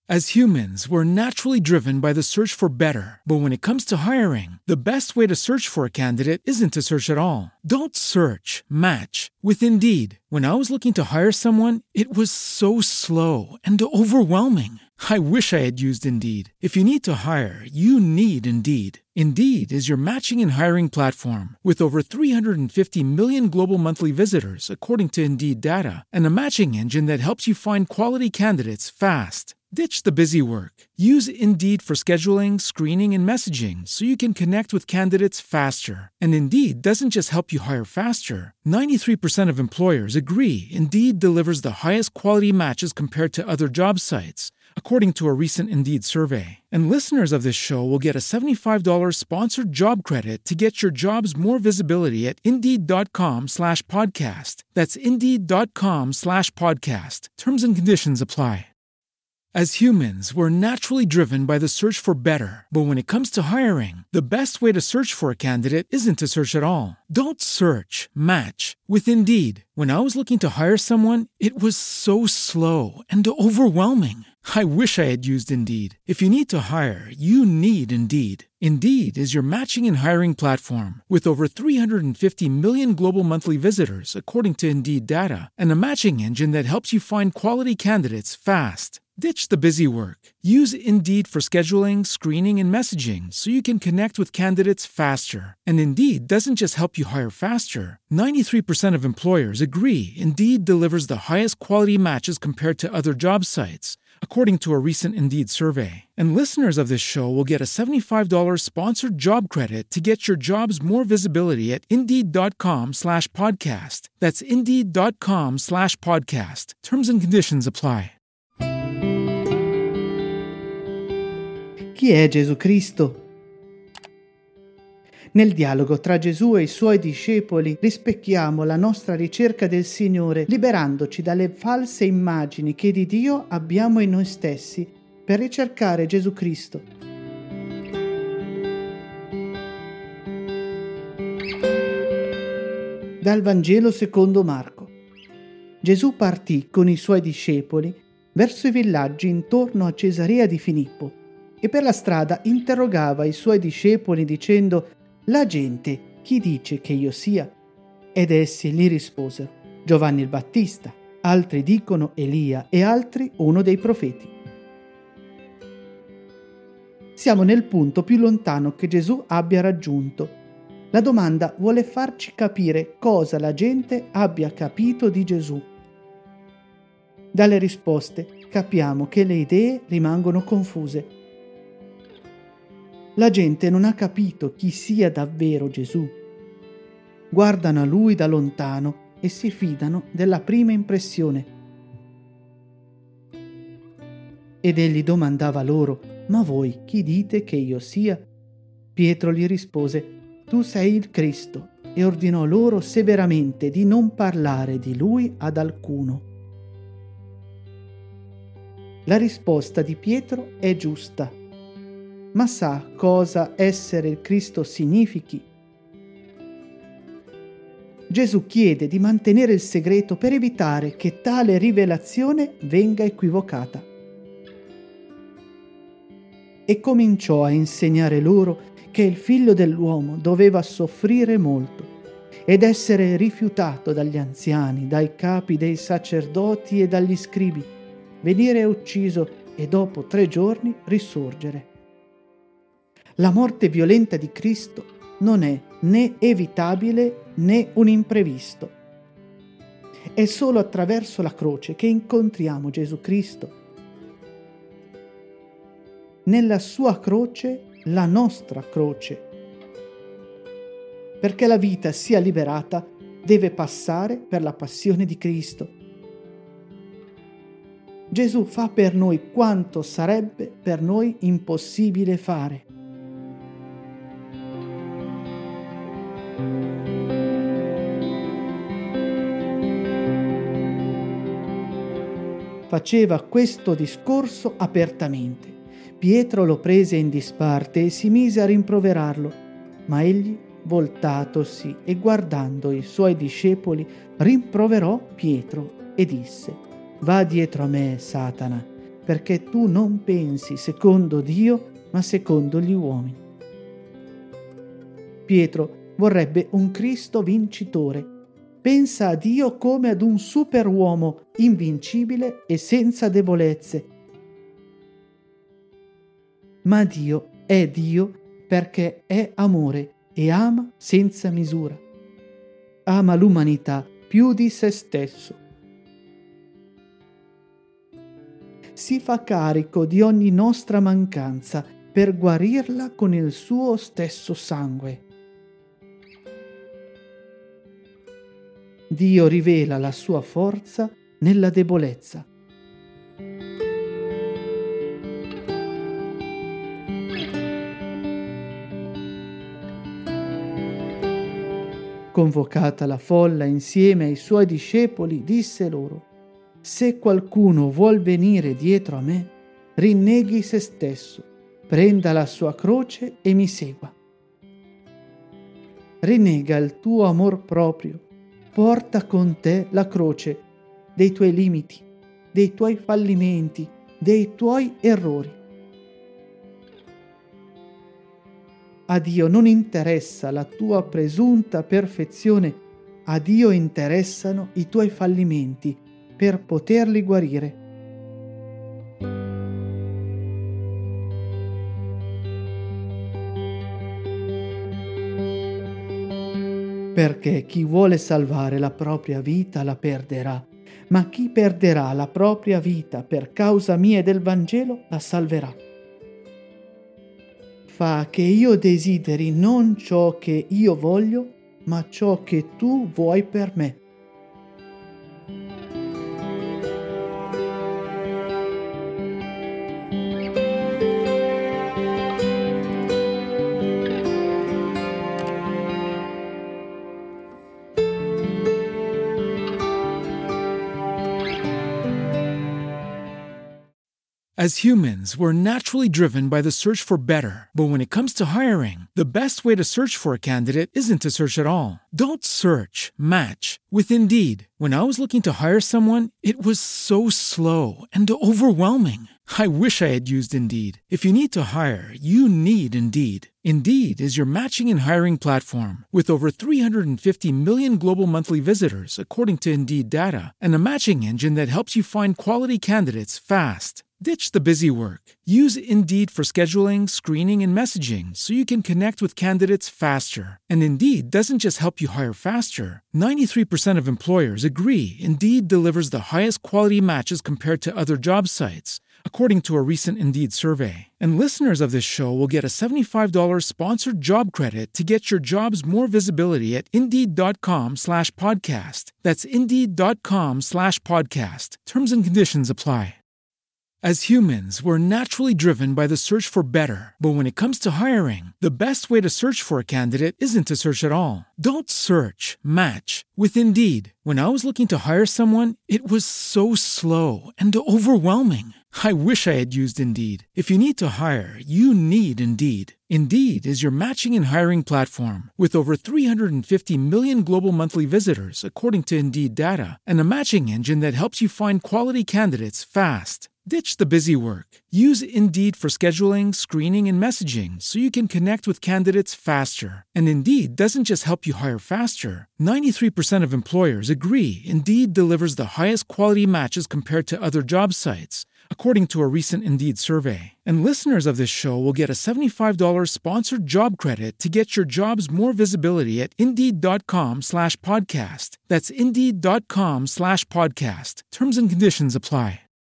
As humans, we're naturally driven by the search for better. But when it comes to hiring, the best way to search for a candidate isn't to search at all. Don't search, match with Indeed. When I was looking to hire someone, it was so slow and overwhelming. I wish I had used Indeed. If you need to hire, you need Indeed. Indeed is your matching and hiring platform with over 350 million global monthly visitors, according to Indeed data, and a matching engine that helps you find quality candidates fast. Ditch the busy work. Use Indeed for scheduling, screening, and messaging so you can connect with candidates faster. And Indeed doesn't just help you hire faster. 93% of employers agree Indeed delivers the highest quality matches compared to other job sites, according to a recent Indeed survey. And listeners of this show will get a $75 sponsored job credit to get your jobs more visibility at Indeed.com/podcast. That's Indeed.com/podcast. Terms and conditions apply. As humans, we're naturally driven by the search for better. But when it comes to hiring, the best way to search for a candidate isn't to search at all. Don't search, match with Indeed. When I was looking to hire someone, it was so slow and overwhelming. I wish I had used Indeed. If you need to hire, you need Indeed. Indeed is your matching and hiring platform with over 350 million global monthly visitors, according to Indeed data, and a matching engine that helps you find quality candidates fast. Ditch the busy work. Use Indeed for scheduling, screening, and messaging so you can connect with candidates faster. And Indeed doesn't just help you hire faster. 93% of employers agree Indeed delivers the highest quality matches compared to other job sites, according to a recent Indeed survey. And listeners of this show will get a $75 sponsored job credit to get your jobs more visibility at Indeed.com/podcast. That's Indeed.com/podcast. Terms and conditions apply. Chi è Gesù Cristo? Nel dialogo tra Gesù e i suoi discepoli rispecchiamo la nostra ricerca del Signore, liberandoci dalle false immagini che di Dio abbiamo in noi stessi per ricercare Gesù Cristo. Dal Vangelo secondo Marco. Gesù partì con i suoi discepoli verso i villaggi intorno a Cesarea di Filippo e per la strada interrogava i suoi discepoli dicendo: «La gente chi dice che io sia?» Ed essi gli risposero: «Giovanni il Battista, altri dicono Elia e altri uno dei profeti». Siamo nel punto più lontano che Gesù abbia raggiunto. La domanda vuole farci capire cosa la gente abbia capito di Gesù. Dalle risposte capiamo che le idee rimangono confuse. La gente non ha capito chi sia davvero Gesù. Guardano a Lui da lontano e si fidano della prima impressione. Ed egli domandava loro: «Ma voi chi dite che io sia?» Pietro gli rispose: «Tu sei il Cristo», e ordinò loro severamente di non parlare di Lui ad alcuno. La risposta di Pietro è giusta. Ma sa cosa essere il Cristo significhi? Gesù chiede di mantenere il segreto per evitare che tale rivelazione venga equivocata. E cominciò a insegnare loro che il Figlio dell'uomo doveva soffrire molto ed essere rifiutato dagli anziani, dai capi dei sacerdoti e dagli scribi, venire ucciso e dopo 3 giorni risorgere. La morte violenta di Cristo non è né evitabile né un imprevisto. È solo attraverso la croce che incontriamo Gesù Cristo. Nella sua croce, la nostra croce. Perché la vita sia liberata, deve passare per la passione di Cristo. Gesù fa per noi quanto sarebbe per noi impossibile fare. Faceva questo discorso apertamente. Pietro lo prese in disparte e si mise a rimproverarlo, ma egli, voltatosi e guardando i suoi discepoli, rimproverò Pietro e disse: «Va dietro a me, Satana, perché tu non pensi secondo Dio, ma secondo gli uomini. Pietro vorrebbe un Cristo vincitore. Pensa a Dio come ad un superuomo invincibile e senza debolezze. Ma Dio è Dio perché è amore e ama senza misura. Ama l'umanità più di se stesso. Si fa carico di ogni nostra mancanza per guarirla con il suo stesso sangue. Dio rivela la sua forza nella debolezza. Convocata la folla insieme ai suoi discepoli, disse loro: se qualcuno vuol venire dietro a me, rinneghi se stesso, prenda la sua croce e mi segua. Rinnega il tuo amor proprio, porta con te la croce dei tuoi limiti, dei tuoi fallimenti, dei tuoi errori. A Dio non interessa la tua presunta perfezione, a Dio interessano i tuoi fallimenti per poterli guarire. Perché chi vuole salvare la propria vita la perderà, ma chi perderà la propria vita per causa mia e del Vangelo la salverà. Fa che io desideri non ciò che io voglio, ma ciò che tu vuoi per me. As humans, we're naturally driven by the search for better. But when it comes to hiring, the best way to search for a candidate isn't to search at all. Don't search, match with Indeed. When I was looking to hire someone, it was so slow and overwhelming. I wish I had used Indeed. If you need to hire, you need Indeed. Indeed is your matching and hiring platform with over 350 million global monthly visitors, according to Indeed data, and a matching engine that helps you find quality candidates fast. Ditch the busy work. Use Indeed for scheduling, screening, and messaging so you can connect with candidates faster. And Indeed doesn't just help you hire faster. 93% of employers agree Indeed delivers the highest quality matches compared to other job sites, according to a recent Indeed survey. And listeners of this show will get a $75 sponsored job credit to get your jobs more visibility at Indeed.com/podcast. That's Indeed.com/podcast. Terms and conditions apply. As humans, we're naturally driven by the search for better. But when it comes to hiring, the best way to search for a candidate isn't to search at all. Don't search, match with Indeed. When I was looking to hire someone, it was so slow and overwhelming. I wish I had used Indeed. If you need to hire, you need Indeed. Indeed is your matching and hiring platform with over 350 million global monthly visitors, according to Indeed data, and a matching engine that helps you find quality candidates fast. Ditch the busy work. Use Indeed for scheduling, screening, and messaging so you can connect with candidates faster. And Indeed doesn't just help you hire faster. 93% of employers agree Indeed delivers the highest quality matches compared to other job sites, according to a recent Indeed survey. And listeners of this show will get a $75 sponsored job credit to get your jobs more visibility at Indeed.com/podcast. That's Indeed.com/podcast. Terms and conditions apply.